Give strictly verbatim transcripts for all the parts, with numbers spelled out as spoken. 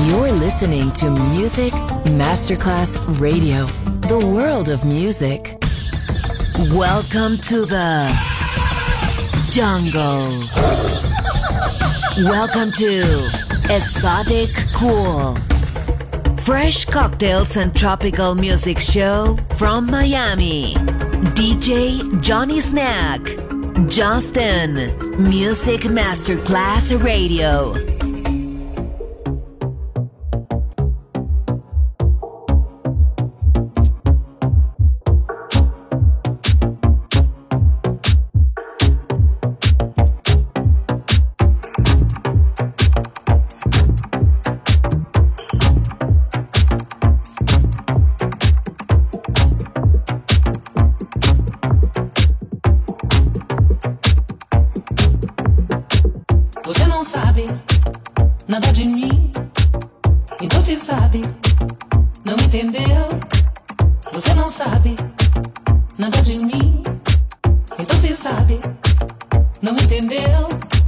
You're listening to Music Masterclass Radio, the world of music. Welcome to the jungle. Welcome to Exotic Cool. Fresh cocktails and tropical music show from Miami. D J Johnny Snack. Justin. Music Masterclass Radio. Nada de mim, então se sabe, não entendeu? Você não sabe nada de mim, então se sabe, não entendeu?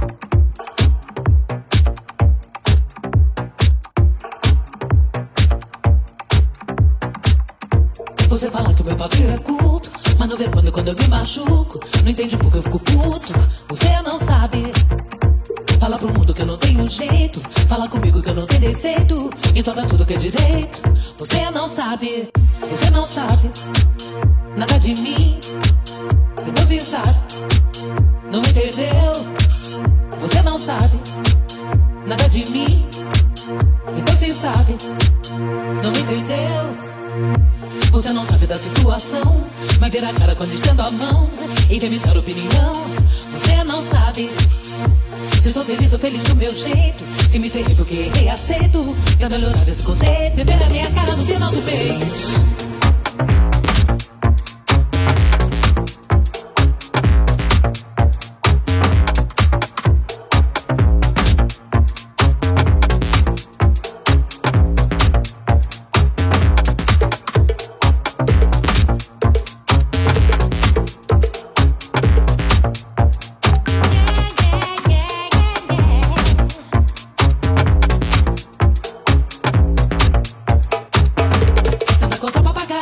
Você fala que o meu pavio é curto, mas não vê quando, quando eu me machuco. Não entende porque eu fico puto, você não sabe. Fala pro mundo que eu não tenho jeito, fala comigo que eu não tenho defeito, então dá tudo que é direito. Você não sabe, você não sabe nada de mim, então se sabe, não entendeu? Você não sabe nada de mim, então se sabe, não entendeu? Você não sabe da situação, mas vira a cara quando estendo a mão e vem me dar opinião. Você não sabe se sou feliz, sou feliz do meu jeito. Se me ferrei porque errei, aceito. Tenta melhorar esse conceito e ver a minha cara no final do mês. Conta pra pagar.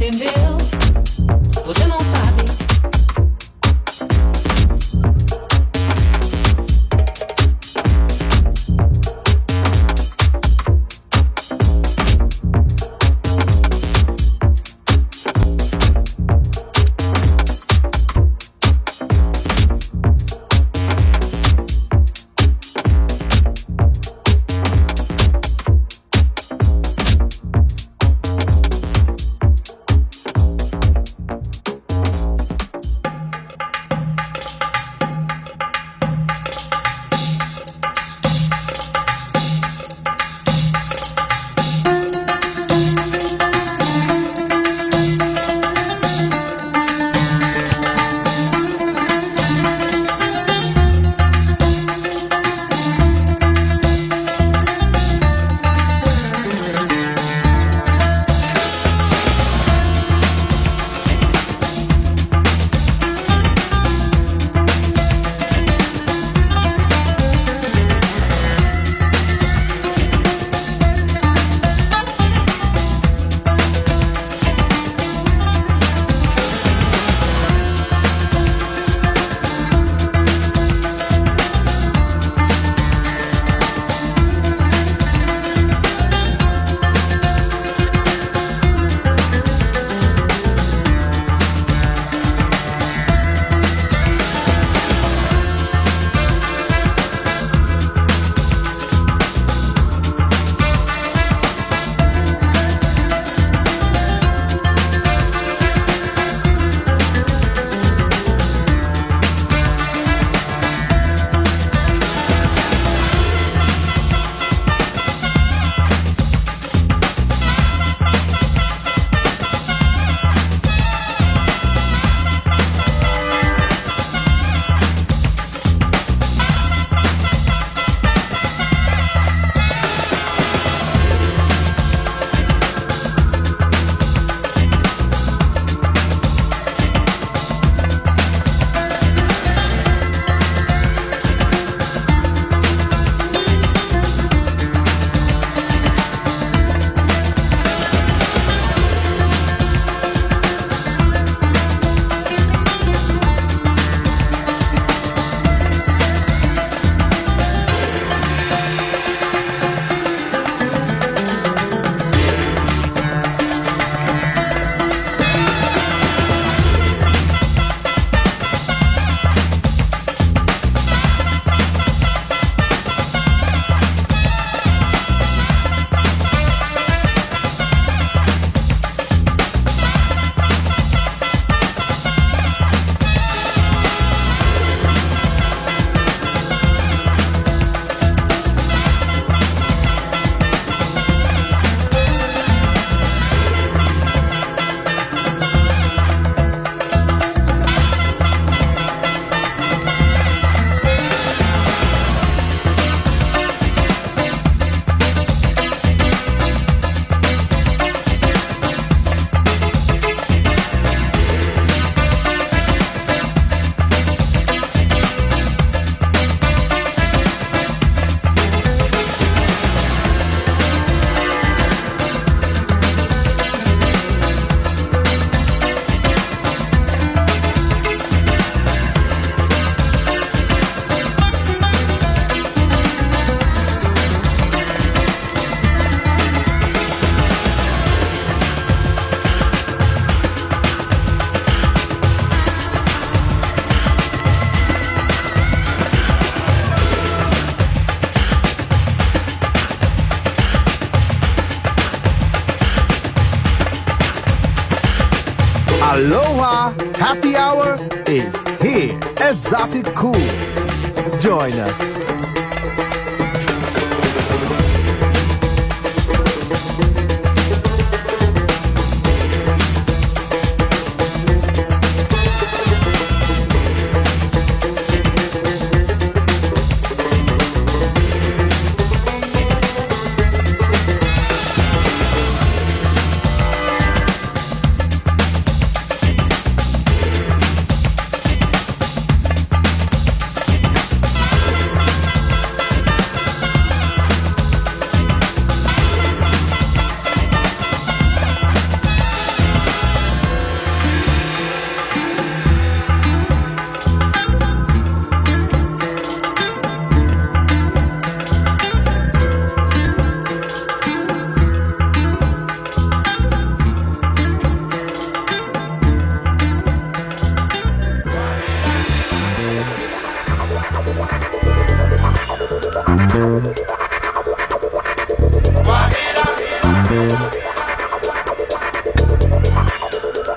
entendeu? Você não sabe. Aloha! Happy Hour is here. Exotic Cool. Join us.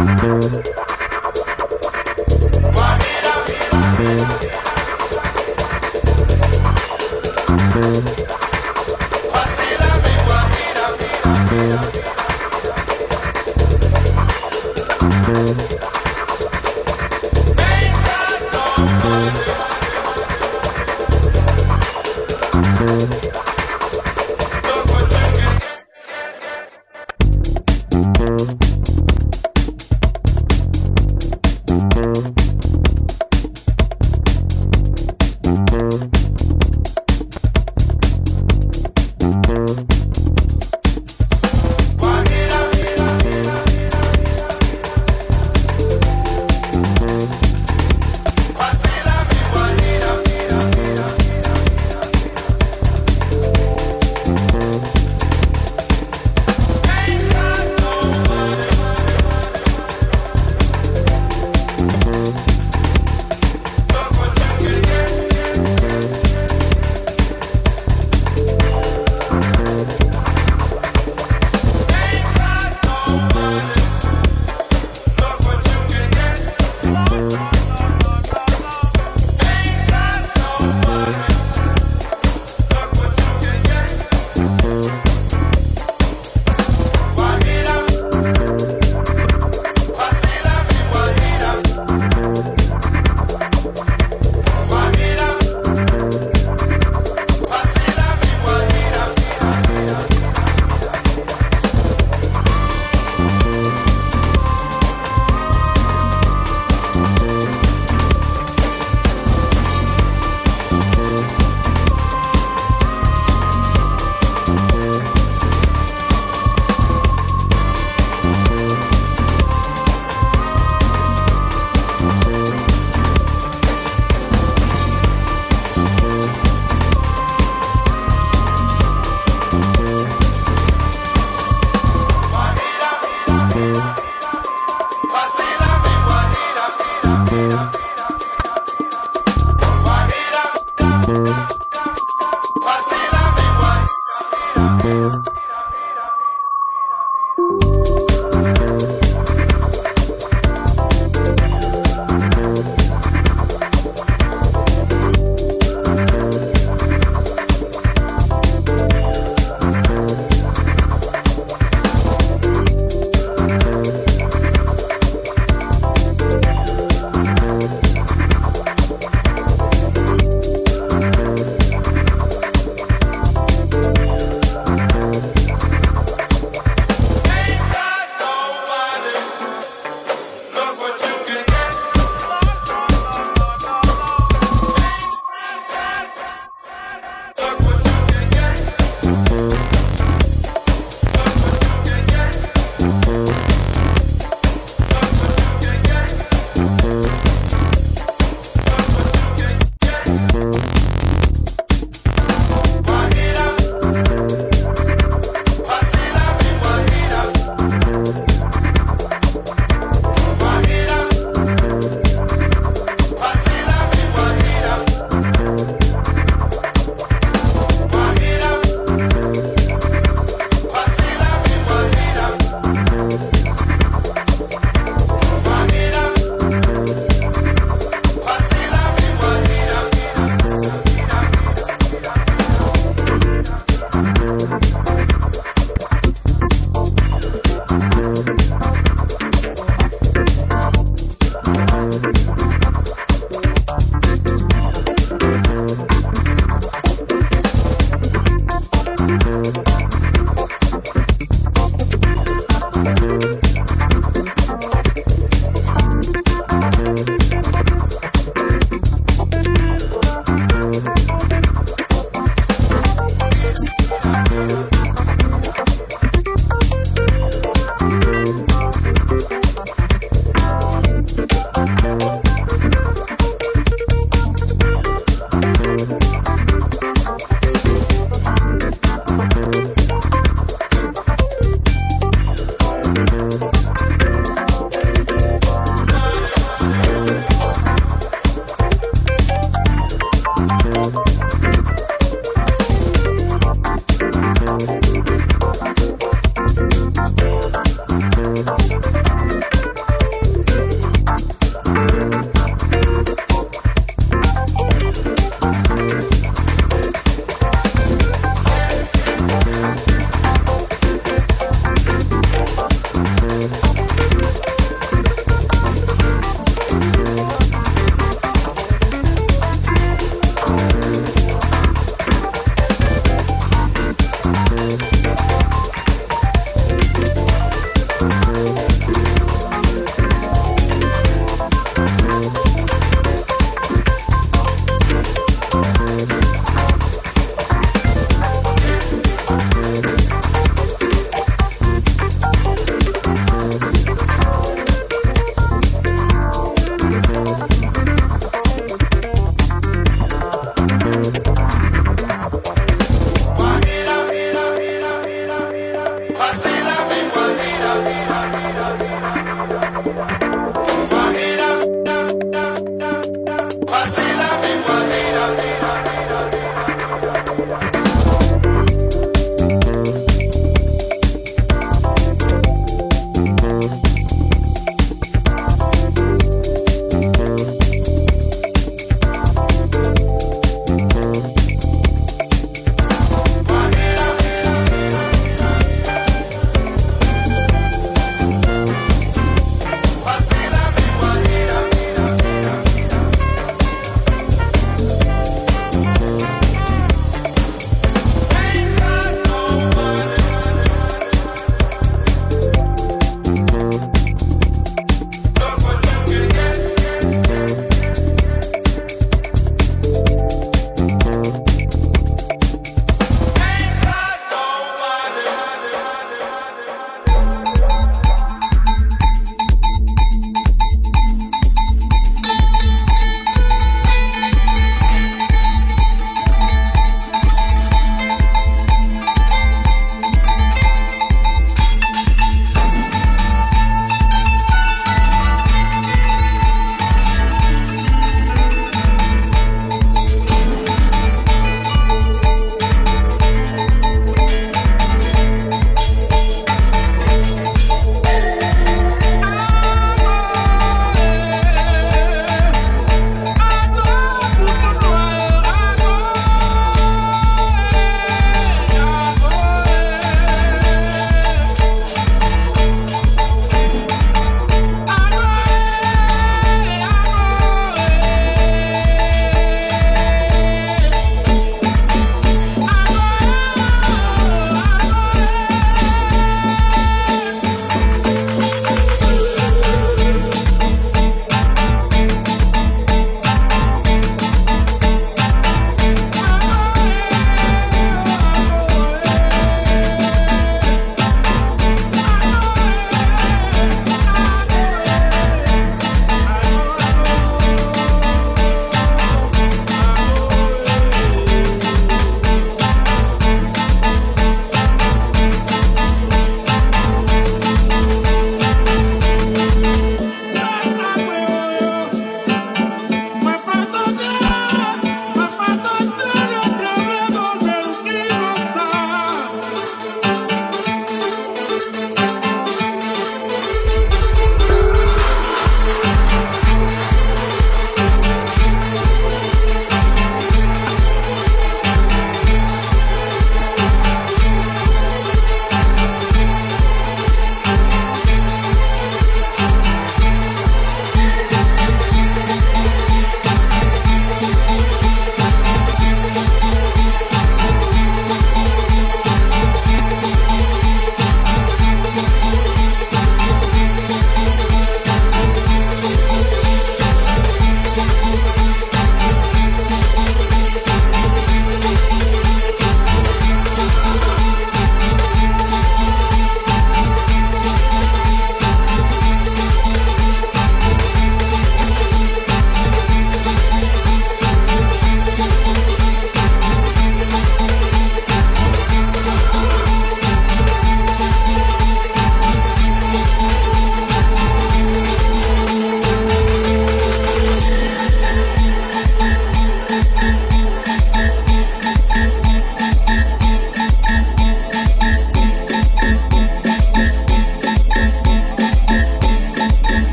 Ain't got nobody.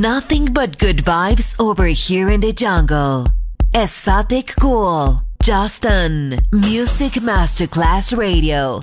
Nothing but good vibes over here in the jungle. Exotic Cool. Justin. Music Masterclass Radio.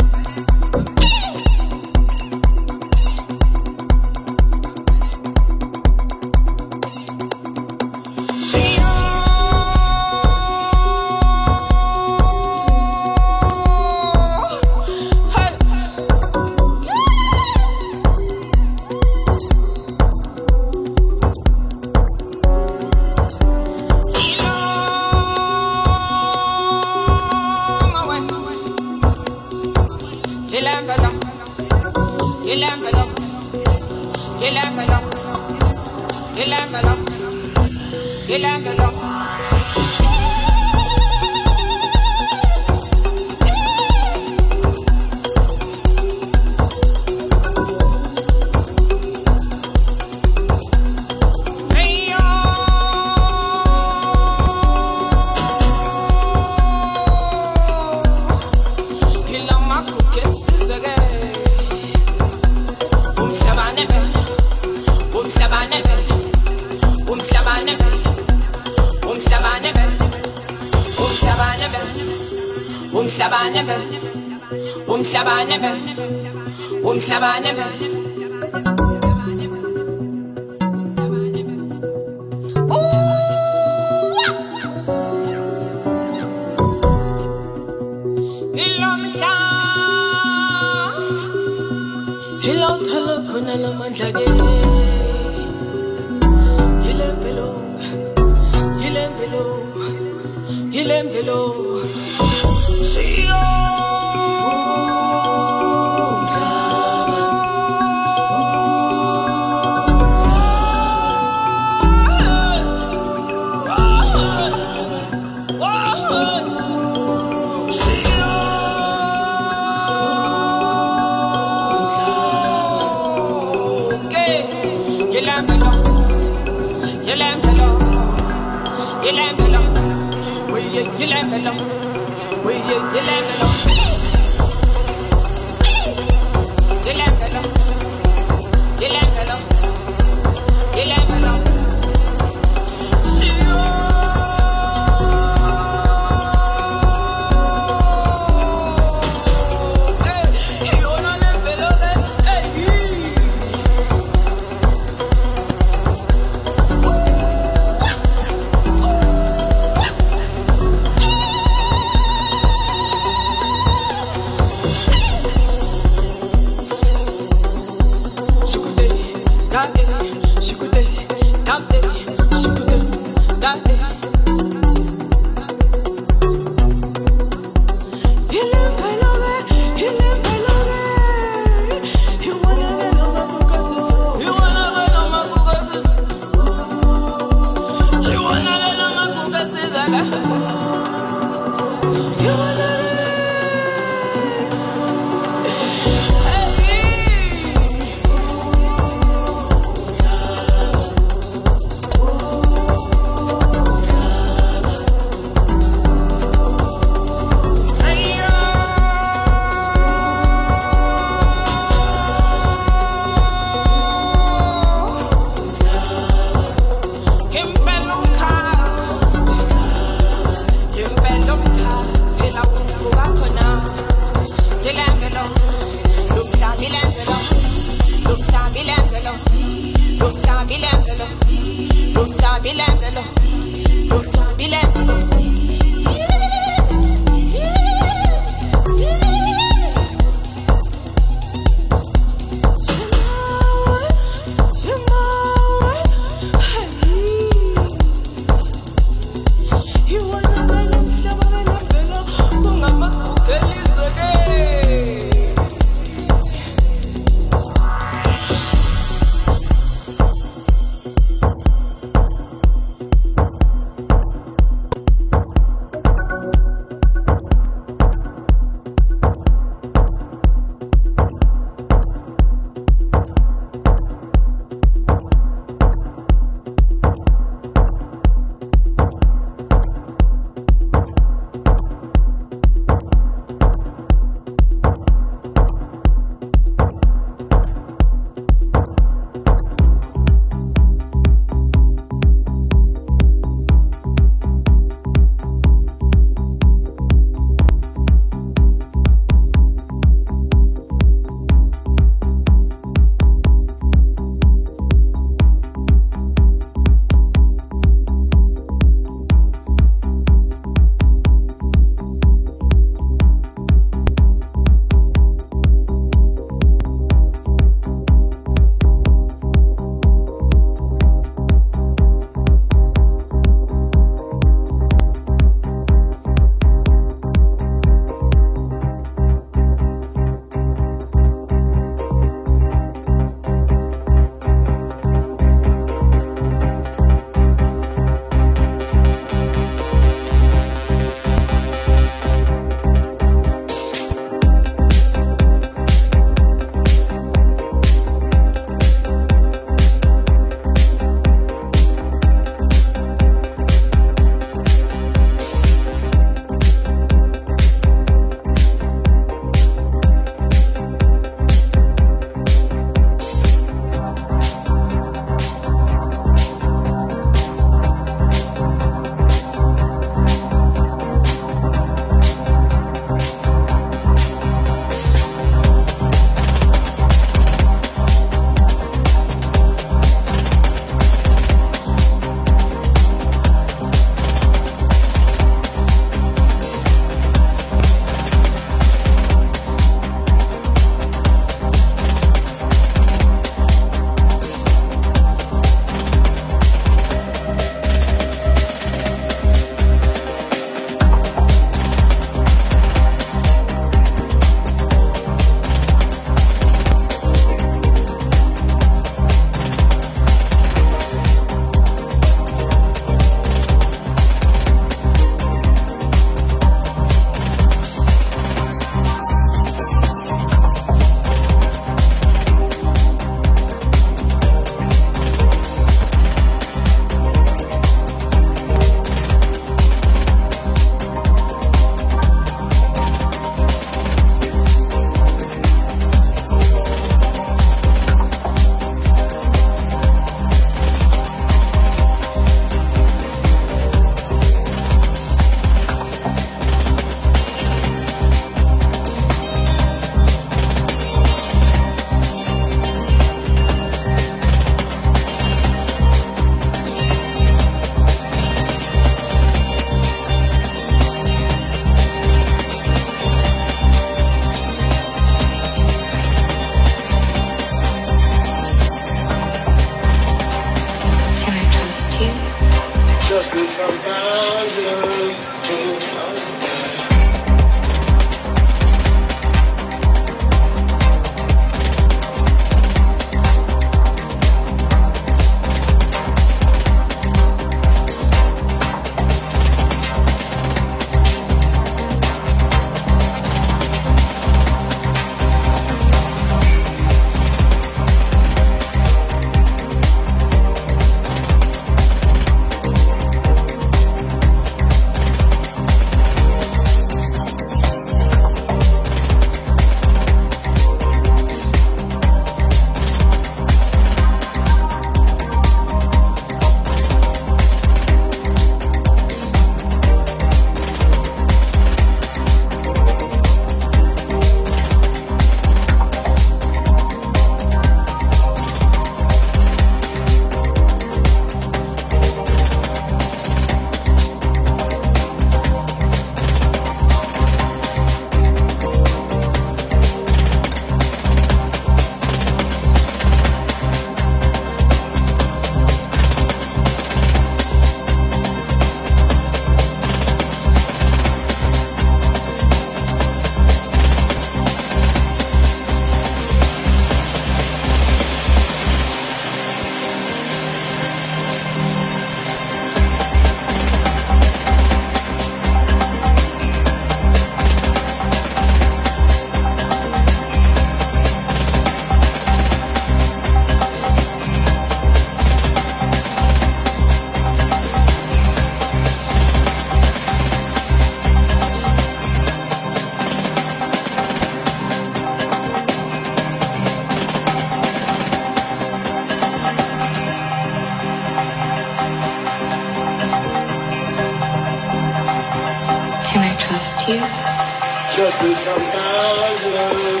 you. Just be sometimes.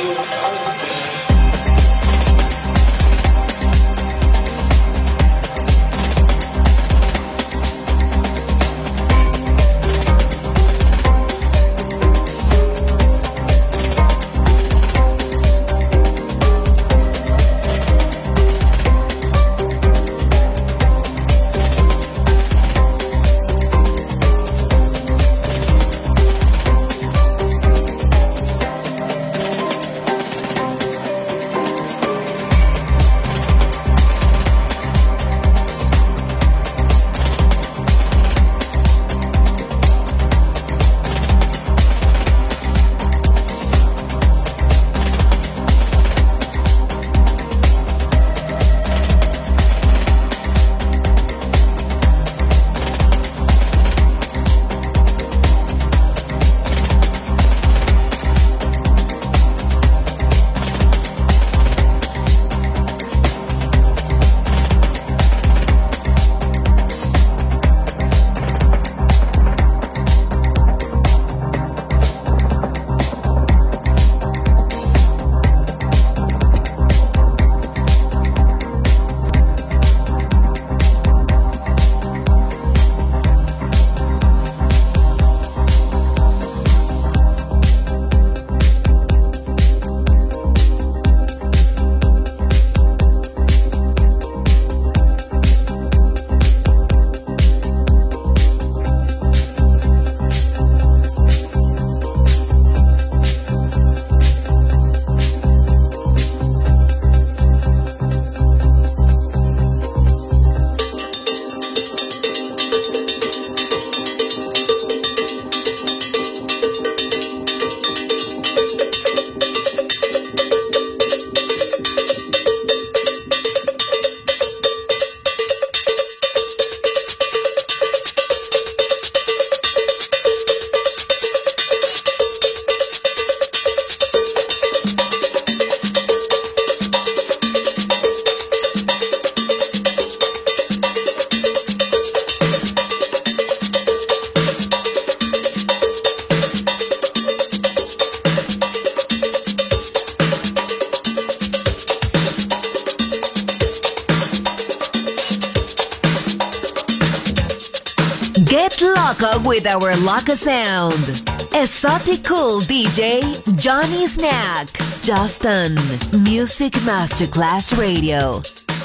Get loco with our Loca sound. Exotic Cool D J Johnny Snack. Just on Music Masterclass Radio.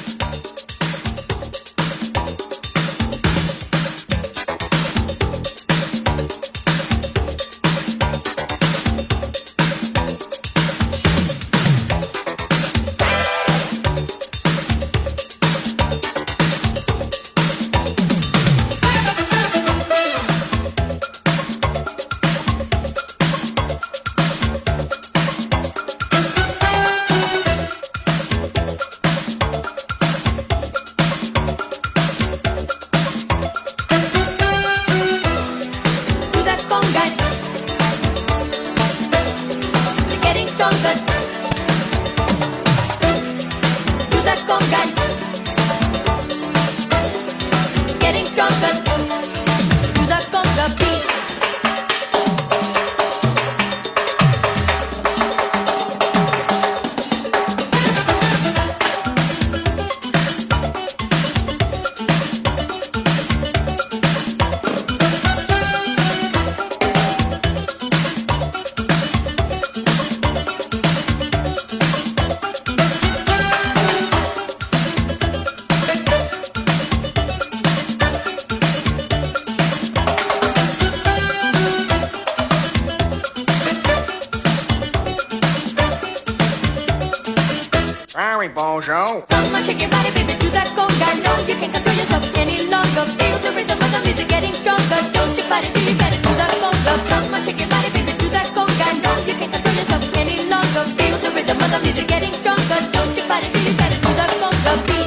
Bonjour. Come on, shake your body, baby, do that conga. No, you can't control yourself any longer. Feel the rhythm of the music getting stronger. Don't you fight it till you get it, do that conga. Come on, shake your body, baby, do that conga. No, you can't control yourself any longer. Feel the rhythm of the music getting stronger. Don't you fight it till you get it, do that conga beat.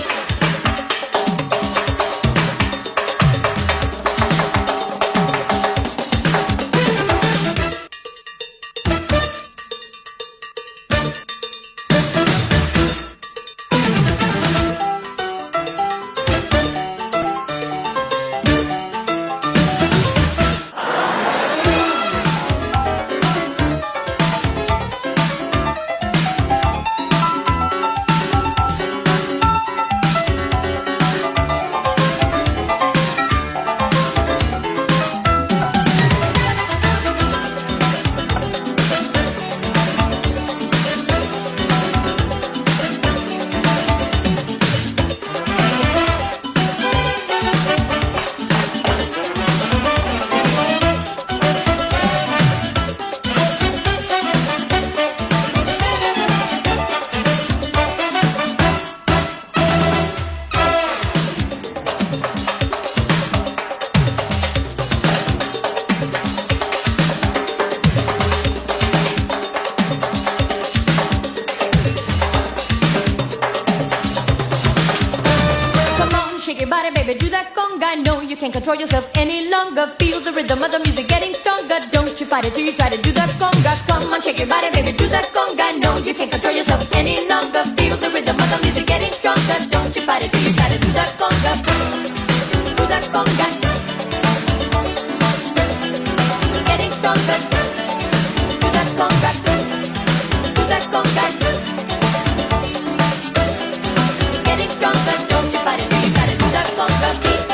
baby, do that conga. No, you can't control yourself any longer. Feel the rhythm of the music getting stronger. Don't you fight it till you try to do that conga. Come on, shake your body, baby, do that conga. No, you can't control yourself any longer. Feel the rhythm of the music getting stronger. Don't you fight it till you try to do that conga. Do that conga. Getting stronger. Do that conga. Do that conga. Getting stronger. Don't you fight it till you try to do that conga.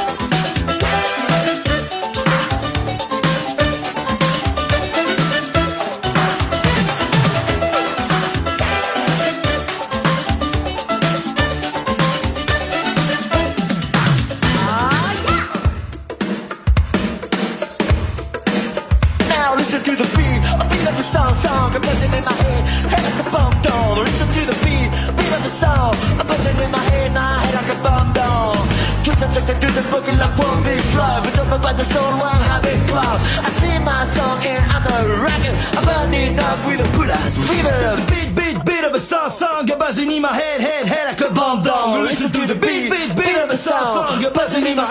Listen to the beat, a beat of the song, song, a buzzing in my head, head like a bomb down. Listen to the beat, beat of the song, a buzzing in my head, my head like a bomb down. Twitch attracted to the boogie like one big flow, but don't know about the soul, one habit club. I sing my song and I'm a rocket, I'm burning up with a good ass fever. Beat, beat, beat of a song, song, a buzzing in my head, head, head like a bomb down. Listen to the beat, beat, beat of a song, song, a buzzing in my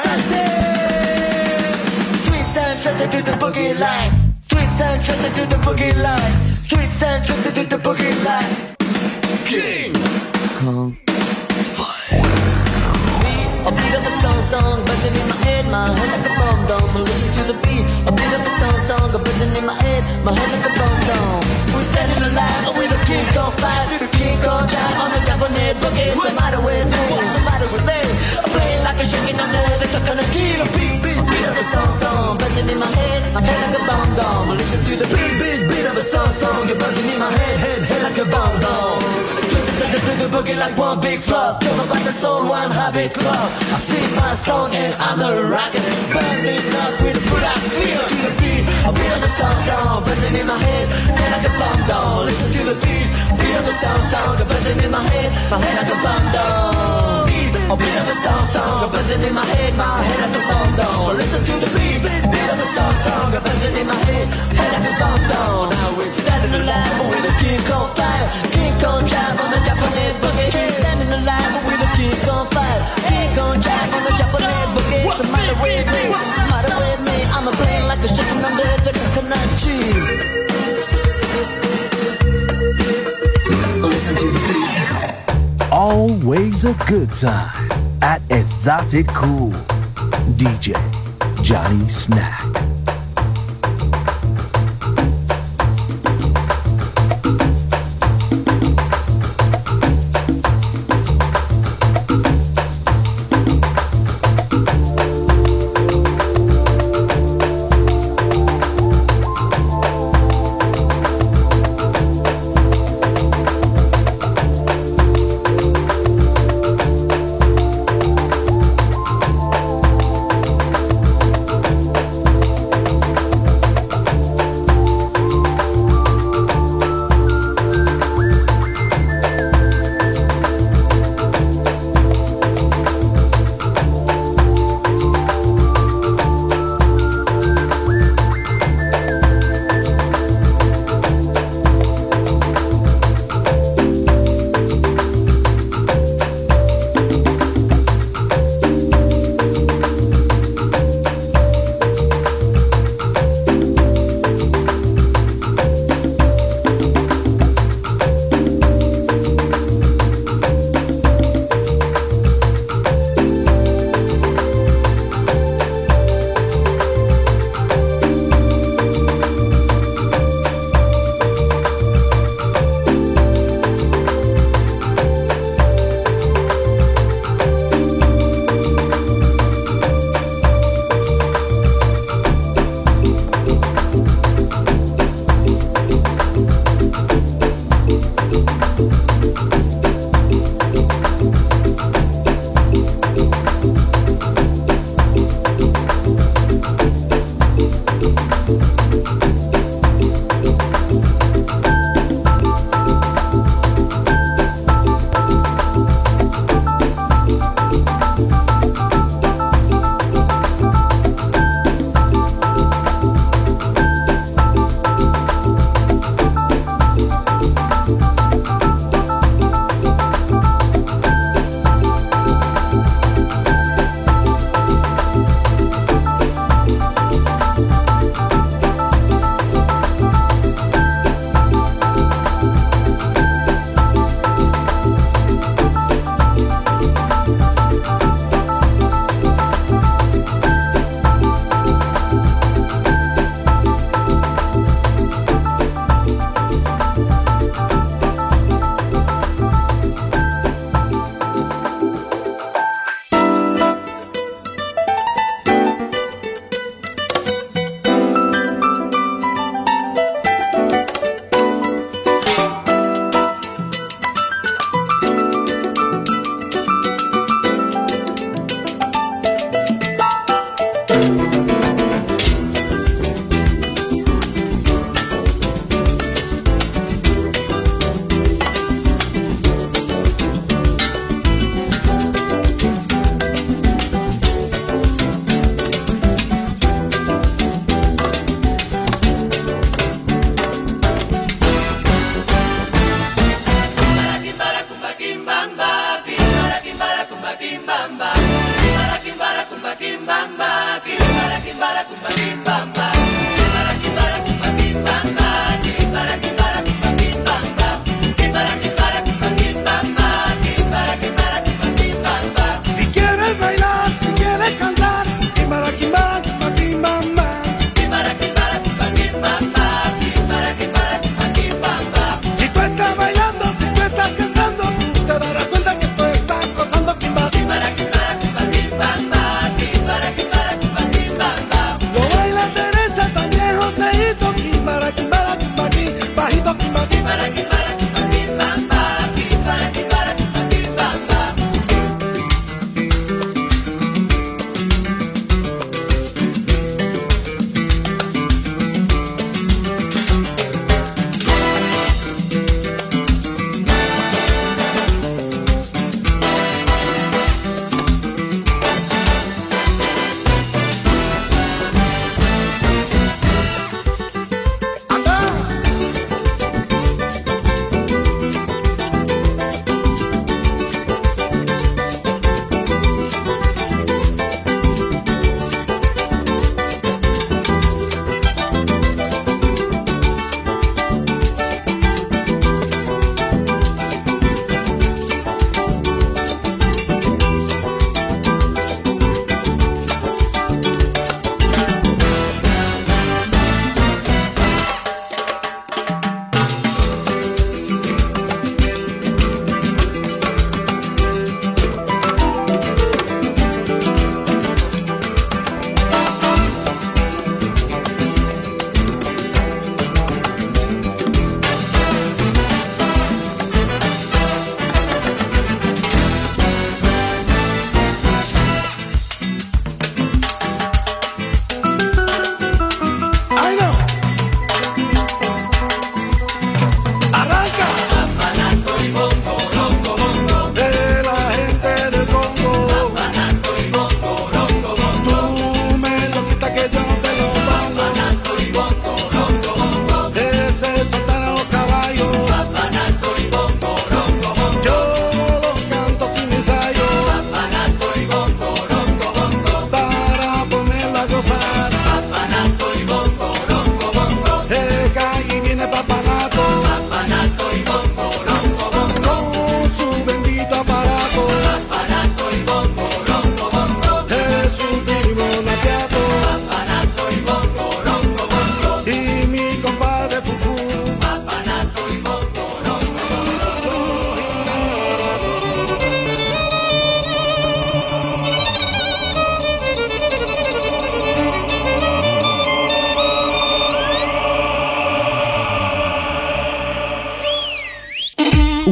head. Twitch attracted to the boogie line. Tweets and tricks to the boogie line. Tweets and tricks to the boogie line. King Kong Fire. A beat of a song, song, buzzing in my head, my head like a bomb dome. Listen to the beat. A beat of a song, song, buzzing in my head, my head like a bomb dome. We're standing alive with a King Kong Fire. Through the King Kong drive on the Japanese boogie. What's the matter with me? What's the matter with me? I'm playing like a shaking under the coconut tree. A beat, beat, beat of a song, song, buzzing in my head, my head like a bomb dome. Listen to the beat, beat, beat of a song, song, you're buzzing in my head, head, head like a bomb dome. Twitching to the, to the boogie like one big flop. Don't know about the soul, one habit club. I sing my song and I'm a rocket, burning up with a good ass feel. To the beat, a beat of a song, song, buzzing in my head, head like a bomb dome. Listen to the beat, beat of a song, song, buzzing in my head, my head like a bomb dome. Beat, a beat of a song, song, buzzing in my head, my head like a bomb dome. Listen to the beat, beat of a song, song, buzzing in my head, head like a bomb dome. Now we're standing alive with a King Kong fire, King Kong drive on the Japanese boogie. Standing alive with a King Kong fire, King Kong drive on the Japanese boogie. What's the matter with me? What's the matter with me? I'm a brain like a chicken under the coconut tree. Listen to the beat. Always a good time at Exotic Cool. D J Johnny Snack.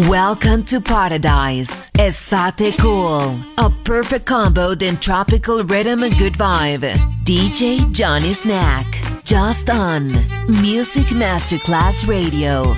Welcome to Paradise. Estate Cool. A perfect combo in tropical rhythm and good vibe. D J Johnny Snack. Just on Music Masterclass Radio.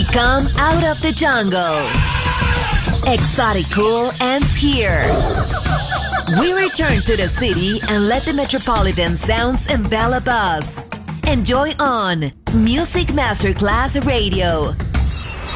Come out of the jungle. Exotic Cool ends here. We return to the city and let the metropolitan sounds envelop us. Enjoy on Music Masterclass Radio.